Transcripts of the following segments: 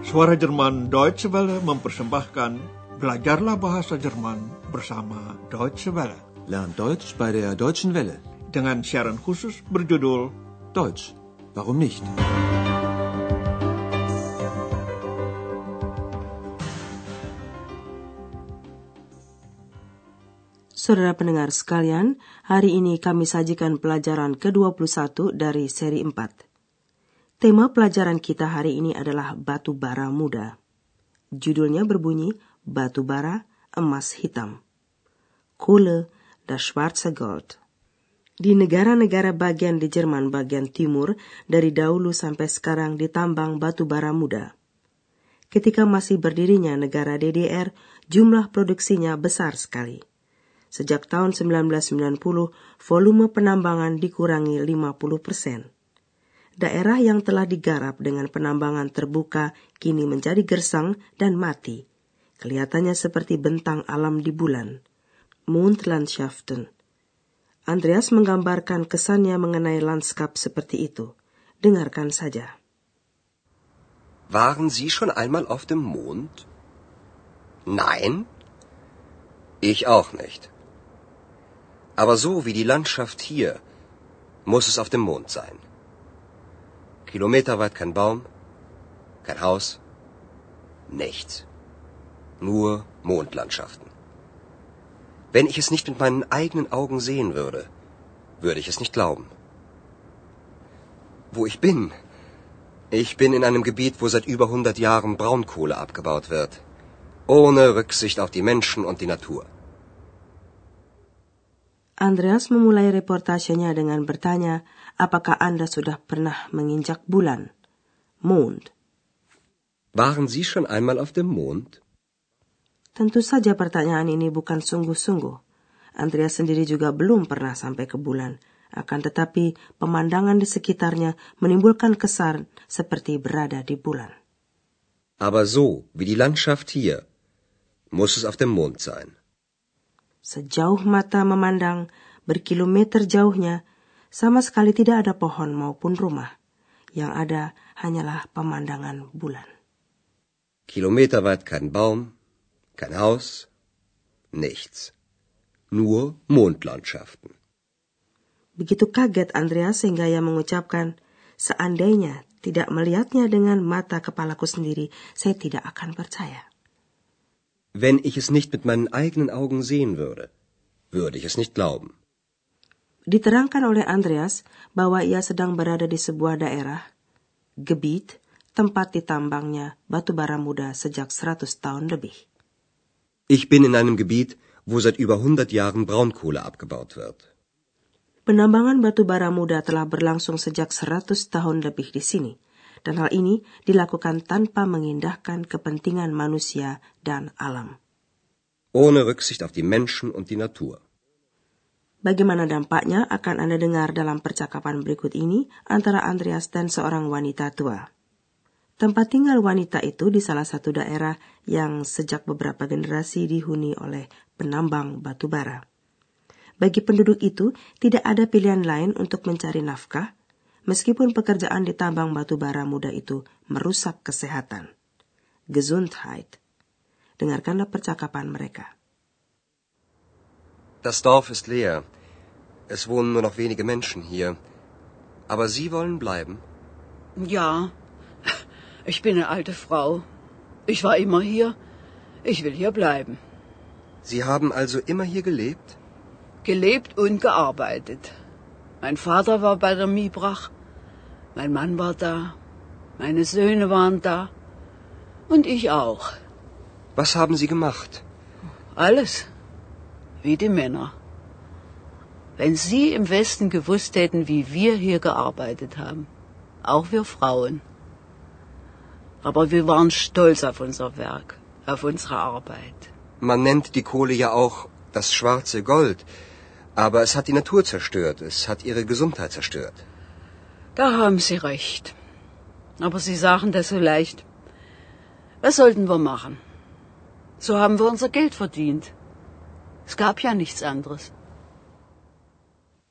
Suara Jerman Deutsche Welle mempersembahkan Belajarlah Bahasa Jerman bersama Deutsche Welle. Lern Deutsch bei der Deutschen Welle. Dengan siaran khusus berjudul Deutsch, warum nicht? Saudara pendengar sekalian, hari ini kami sajikan pelajaran ke-21 dari seri 4. Tema pelajaran kita hari ini adalah batu bara muda. Judulnya berbunyi Batu Bara Emas Hitam. Kohle, das schwarze Gold. Di negara-negara bagian di Jerman bagian timur, dari dahulu sampai sekarang ditambang batu bara muda. Ketika masih berdirinya negara DDR, jumlah produksinya besar sekali. Sejak tahun 1990, volume penambangan dikurangi 50%. Daerah yang telah digarap dengan penambangan terbuka kini menjadi gersang dan mati. Kelihatannya seperti bentang alam di bulan. Mondlandschaften. Andreas menggambarkan kesannya mengenai landskap seperti itu. Dengarkan saja. Waren Sie schon einmal auf dem Mond? Nein? Ich auch nicht. Aber so wie die Landschaft hier, muss es auf dem Mond sein. Kilometerweit kein Baum, kein Haus, nichts. Nur Mondlandschaften. Wenn ich es nicht mit meinen eigenen Augen sehen würde, würde ich es nicht glauben. Wo ich bin? Ich bin in einem Gebiet, wo seit über 100 Jahren Braunkohle abgebaut wird. Ohne Rücksicht auf die Menschen und die Natur. Andreas memulai reportasenya dengan bertanya, apakah Anda sudah pernah menginjak bulan? Mond. Waren Sie schon einmal auf dem Mond? Tentu saja pertanyaan ini bukan sungguh-sungguh. Andreas sendiri juga belum pernah sampai ke bulan. Akan tetapi pemandangan di sekitarnya menimbulkan kesan seperti berada di bulan. Aber so wie die Landschaft hier, muss es auf dem Mond sein. Sejauh mata memandang, berkilometer jauhnya, sama sekali tidak ada pohon maupun rumah. Yang ada hanyalah pemandangan bulan. Kilometerweit kein Baum, kein Haus, nichts. Nur Mondlandschaften. Begitu kaget Andreas sehingga ia mengucapkan, seandainya tidak melihatnya dengan mata kepalaku sendiri, saya tidak akan percaya. Wenn ich es nicht mit meinen eigenen Augen sehen würde, würde ich es nicht glauben. Diterangkan oleh Andreas bahwa ia sedang berada di sebuah daerah, Gebiet, tempat ditambangnya batu bara muda sejak 100 tahun lebih. Ich bin in einem Gebiet, wo seit über 100 Jahren Braunkohle abgebaut wird. Penambangan batu bara muda telah berlangsung sejak 100 tahun lebih di sini. Dan hal ini dilakukan tanpa mengindahkan kepentingan manusia dan alam. Ohne Rücksicht auf die Menschen und die Natur. Bagaimana dampaknya akan Anda dengar dalam percakapan berikut ini antara Andreas dan seorang wanita tua. Tempat tinggal wanita itu di salah satu daerah yang sejak beberapa generasi dihuni oleh penambang batu bara. Bagi penduduk itu, tidak ada pilihan lain untuk mencari nafkah, meskipun pekerjaan di tambang batu bara muda itu merusak kesehatan. Gesundheit. Dengarkanlah percakapan mereka. Das Dorf ist leer. Es wohnen nur noch wenige Menschen hier. Aber Sie wollen bleiben? Ja, ich bin eine alte Frau. Ich war immer hier. Ich will hier bleiben. Sie haben also immer hier gelebt? Gelebt und gearbeitet. Mein Vater war bei der Miebrach. Mein Mann war da, meine Söhne waren da und ich auch. Was haben Sie gemacht? Alles, wie die Männer. Wenn Sie im Westen gewusst hätten, wie wir hier gearbeitet haben, auch wir Frauen. Aber wir waren stolz auf unser Werk, auf unsere Arbeit. Man nennt die Kohle ja auch das schwarze Gold, aber es hat die Natur zerstört, es hat ihre Gesundheit zerstört. Da haben Sie recht. Aber Sie sagen das so leicht. Was sollten wir machen? So haben wir unser Geld verdient. Es gab ja nichts anderes.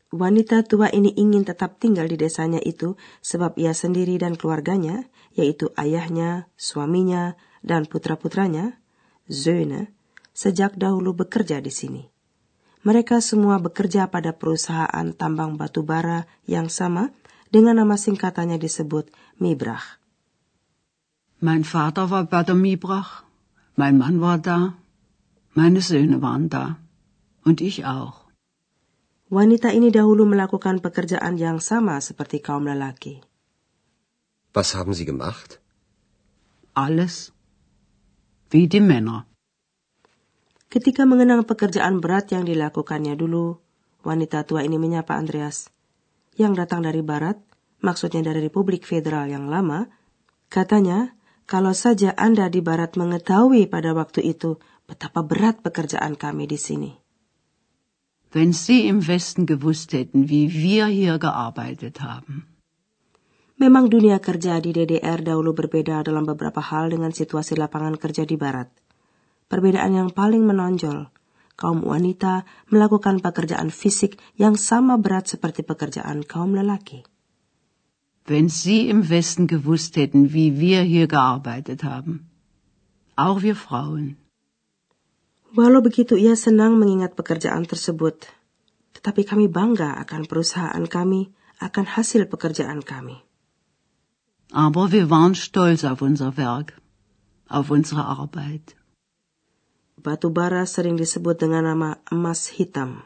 Wanita tua ini ingin tetap tinggal di desanya itu sebab ia sendiri dan keluarganya, yaitu ayahnya, suaminya, dan putra-putranya, Söhne, sejak dahulu bekerja di sini. Mereka semua bekerja pada perusahaan tambang batu bara yang sama dengan nama singkatannya disebut Mibrach. Mein Vater war bei der Mibrach, mein Mann war da, meine Söhne waren da und ich auch. Wanita ini dahulu melakukan pekerjaan yang sama seperti kaum lelaki. Was haben Sie gemacht? Alles wie die Männer. Ketika mengenang pekerjaan berat yang dilakukannya dulu, wanita tua ini menyapa Andreas, yang datang dari barat, maksudnya dari Republik Federal yang lama. Katanya, kalau saja Anda di barat mengetahui pada waktu itu betapa berat pekerjaan kami di sini. Wenn Sie im Westen gewusst hätten, wie wir hier gearbeitet haben. Memang dunia kerja di DDR dahulu berbeda dalam beberapa hal dengan situasi lapangan kerja di barat. Perbedaan yang paling menonjol, kaum wanita melakukan pekerjaan fisik yang sama berat seperti pekerjaan kaum lelaki. Wenn Sie im Westen gewusst hätten, wie wir hier gearbeitet haben. Auch wir Frauen. Walau begitu ia senang mengingat pekerjaan tersebut, tetapi kami bangga akan perusahaan kami, akan hasil pekerjaan kami. Aber wir waren stolz auf unser Werk, auf unsere Arbeit. Batu bara sering disebut dengan nama emas hitam.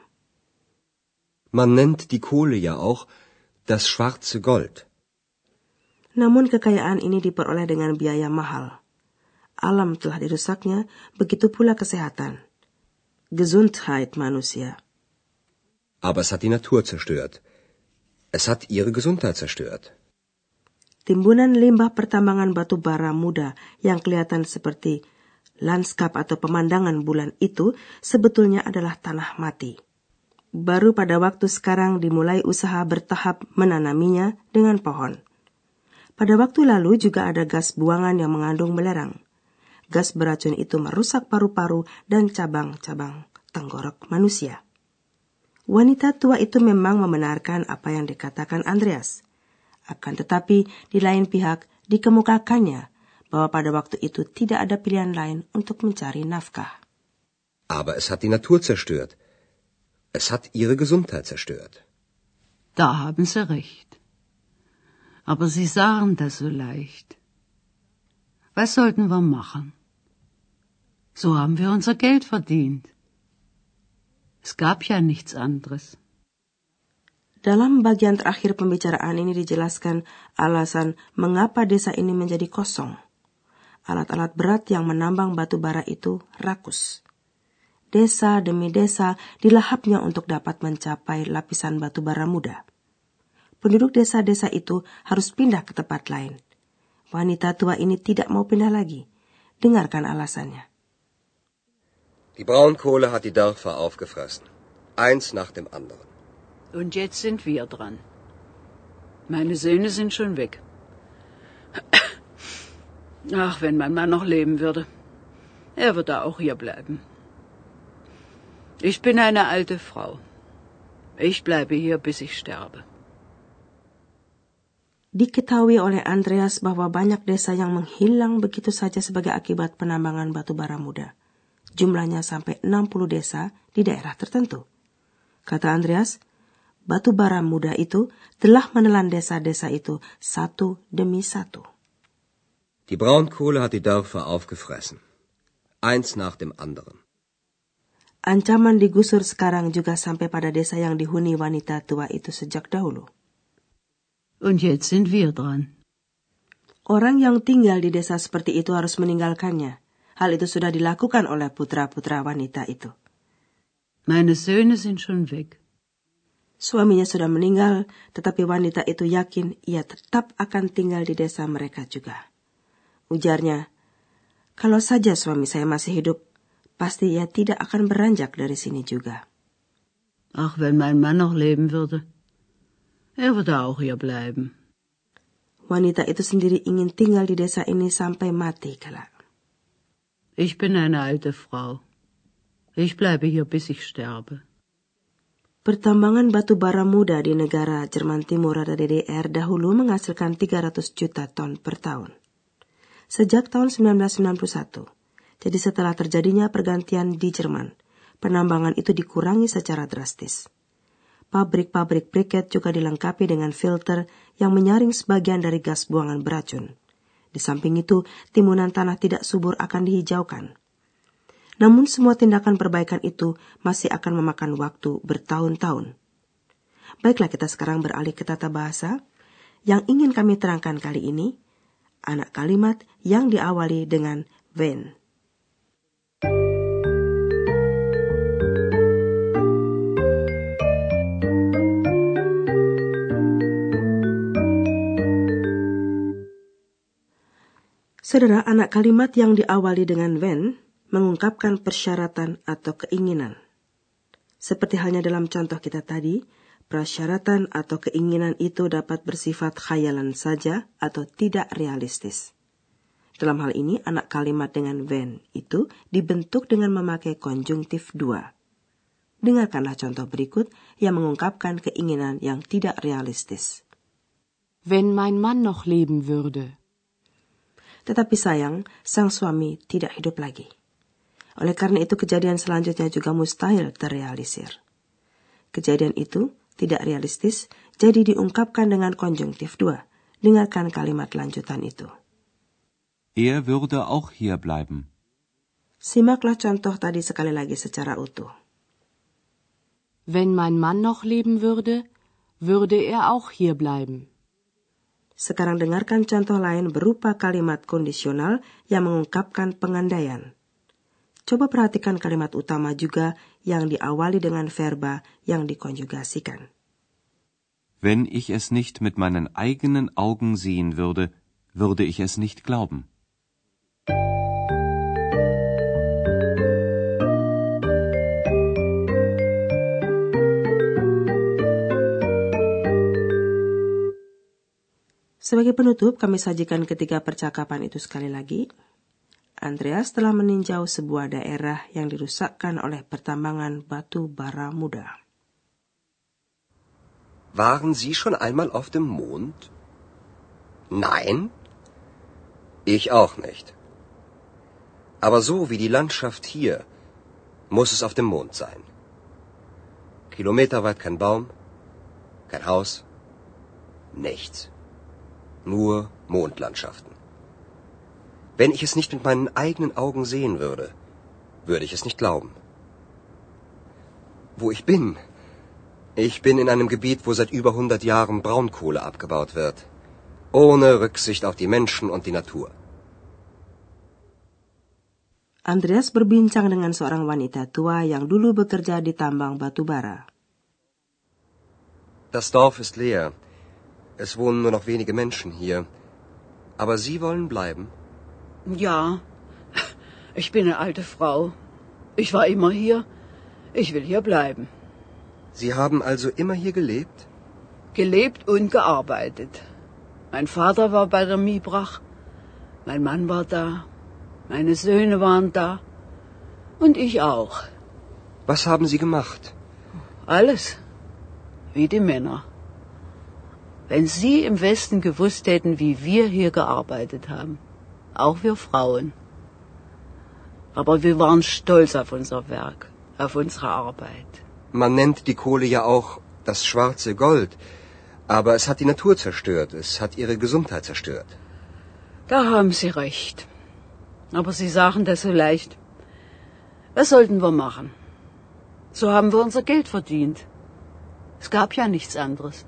Man nennt die Kohle ja auch das schwarze Gold. Namun kekayaan ini diperoleh dengan biaya mahal. Alam telah dirusaknya, begitu pula kesehatan. Gesundheit manusia. Aber es hat die Natur zerstört. Es hat ihre Gesundheit zerstört. Timbunan limbah pertambangan batu bara muda yang kelihatan seperti lanskap atau pemandangan bulan itu sebetulnya adalah tanah mati. Baru pada waktu sekarang dimulai usaha bertahap menanaminya dengan pohon. Pada waktu lalu juga ada gas buangan yang mengandung belerang. Gas beracun itu merusak paru-paru dan cabang-cabang tenggorok manusia. Wanita tua itu memang membenarkan apa yang dikatakan Andreas. Akan tetapi, di lain pihak, dikemukakannya bahwa pada waktu itu tidak ada pilihan lain untuk mencari nafkah. Aber es hat die Natur zerstört. Es hat ihre Gesundheit zerstört. Da haben Sie recht. Aber Sie sagen das so leicht. Was sollten wir machen? So haben wir unser Geld verdient. Es gab ja nichts anderes. Dalam bagian terakhir pembicaraan ini dijelaskan alasan mengapa desa ini menjadi kosong. Alat-alat berat yang menambang batu bara itu rakus. Desa demi desa dilahapnya untuk dapat mencapai lapisan batu bara muda. Penduduk desa-desa itu harus pindah ke tempat lain. Wanita tua ini tidak mau pindah lagi. Dengarkan alasannya. Die Braunkohle hat die Dörfer aufgefressen. Eins nach dem anderen. Und jetzt sind wir dran. Meine Söhne sind schon weg. Ach, wenn mein Mann noch leben würde. Er würde auch hier bleiben. Ich bin eine alte Frau. Ich bleibe hier, bis ich sterbe. Diketahui oleh Andreas bahwa banyak desa yang menghilang begitu saja sebagai akibat penambangan batu bara muda. Jumlahnya sampai 60 desa di daerah tertentu. Kata Andreas, batu bara muda itu telah menelan desa-desa itu satu demi satu. Die Braunkohle hat die Dörfer aufgefressen. Eins nach dem anderen. Ancaman digusur sekarang juga sampai pada desa yang dihuni wanita tua itu sejak dahulu. Und jetzt sind wir dran. Orang yang tinggal di desa seperti itu harus meninggalkannya. Hal itu sudah dilakukan oleh putra-putra wanita itu. Meine Söhne sind schon weg. Suaminya sudah meninggal, tetapi wanita itu yakin ia tetap akan tinggal di desa mereka juga. Ujarnya, kalau saja suami saya masih hidup, pasti ia tidak akan beranjak dari sini juga. Ach, wenn mein Mann noch leben würde. Er würde auch hier bleiben. Wanita itu sendiri ingin tinggal di desa ini sampai mati kelak. Ich bin eine alte Frau. Ich bleibe hier, bis ich sterbe. Pertambangan batu bara muda di negara Jerman Timur atau DDR dahulu menghasilkan 300 juta ton per tahun. Sejak tahun 1991, jadi setelah terjadinya pergantian di Jerman, penambangan itu dikurangi secara drastis. Pabrik-pabrik briket juga dilengkapi dengan filter yang menyaring sebagian dari gas buangan beracun. Di samping itu, timunan tanah tidak subur akan dihijaukan. Namun semua tindakan perbaikan itu masih akan memakan waktu bertahun-tahun. Baiklah, kita sekarang beralih ke tata bahasa. Yang ingin kami terangkan kali ini, anak kalimat yang diawali dengan wenn. Saudara, anak kalimat yang diawali dengan wenn mengungkapkan persyaratan atau keinginan. Seperti halnya dalam contoh kita tadi, persyaratan atau keinginan itu dapat bersifat khayalan saja atau tidak realistis. Dalam hal ini, anak kalimat dengan wenn itu dibentuk dengan memakai konjungtif 2. Dengarkanlah contoh berikut yang mengungkapkan keinginan yang tidak realistis. Wenn mein Mann noch leben würde. Tetapi sayang, sang suami tidak hidup lagi. Oleh karena itu kejadian selanjutnya juga mustahil terrealisir. Kejadian itu tidak realistis, jadi diungkapkan dengan konjungtif 2. Dengarkan kalimat lanjutan itu. Er würde auch hier bleiben. Simaklah contoh tadi sekali lagi secara utuh. Wenn mein Mann noch leben würde, würde er auch hier bleiben. Sekarang dengarkan contoh lain berupa kalimat kondisional yang mengungkapkan pengandaian. Coba perhatikan kalimat utama juga yang diawali dengan verba yang dikonjugasikan. Wenn ich es nicht mit meinen eigenen Augen sehen würde, würde ich es nicht glauben. Sebagai penutup, kami sajikan ketiga percakapan itu sekali lagi. Andreas telah meninjau sebuah daerah yang dirusakkan oleh pertambangan batu bara muda. Waren Sie schon einmal auf dem Mond? Nein, ich auch nicht. Aber so wie die Landschaft hier, muss es auf dem Mond sein. Kilometerweit kein Baum, kein Haus, nichts. Nur Mondlandschaften. Wenn ich es nicht mit meinen eigenen Augen sehen würde, würde ich es nicht glauben. Wo ich bin? Ich bin in einem Gebiet, wo seit über 100 Jahren Braunkohle abgebaut wird. Ohne Rücksicht auf die Menschen und die Natur. Andreas berbincang dengan seorang wanita tua yang dulu bekerja di tambang batu bara. Das Dorf ist leer. Es wohnen nur noch wenige Menschen hier. Aber Sie wollen bleiben? Ja, ich bin eine alte Frau. Ich war immer hier. Ich will hier bleiben. Sie haben also immer hier gelebt? Gelebt und gearbeitet. Mein Vater war bei der Miebrach. Mein Mann war da. Meine Söhne waren da. Und ich auch. Was haben Sie gemacht? Alles. Wie die Männer. Wenn Sie im Westen gewusst hätten, wie wir hier gearbeitet haben. Auch wir Frauen. Aber wir waren stolz auf unser Werk, auf unsere Arbeit. Man nennt die Kohle ja auch das schwarze Gold. Aber es hat die Natur zerstört. Es hat ihre Gesundheit zerstört. Da haben Sie recht. Aber Sie sagen das so leicht. Was sollten wir machen? So haben wir unser Geld verdient. Es gab ja nichts anderes.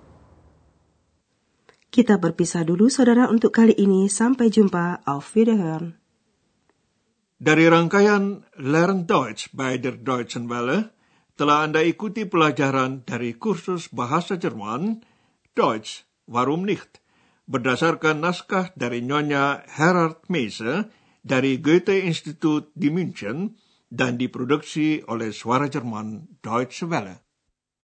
Kita berpisah dulu, saudara, untuk kali ini. Sampai jumpa. Auf Wiederhören. Dari rangkaian Lern Deutsch bei der Deutschen Welle, telah Anda ikuti pelajaran dari kursus bahasa Jerman, Deutsch, warum nicht? Berdasarkan naskah dari Nyonya Gerhard Meise dari Goethe-Institut di München dan diproduksi oleh Suara Jerman Deutsche Welle.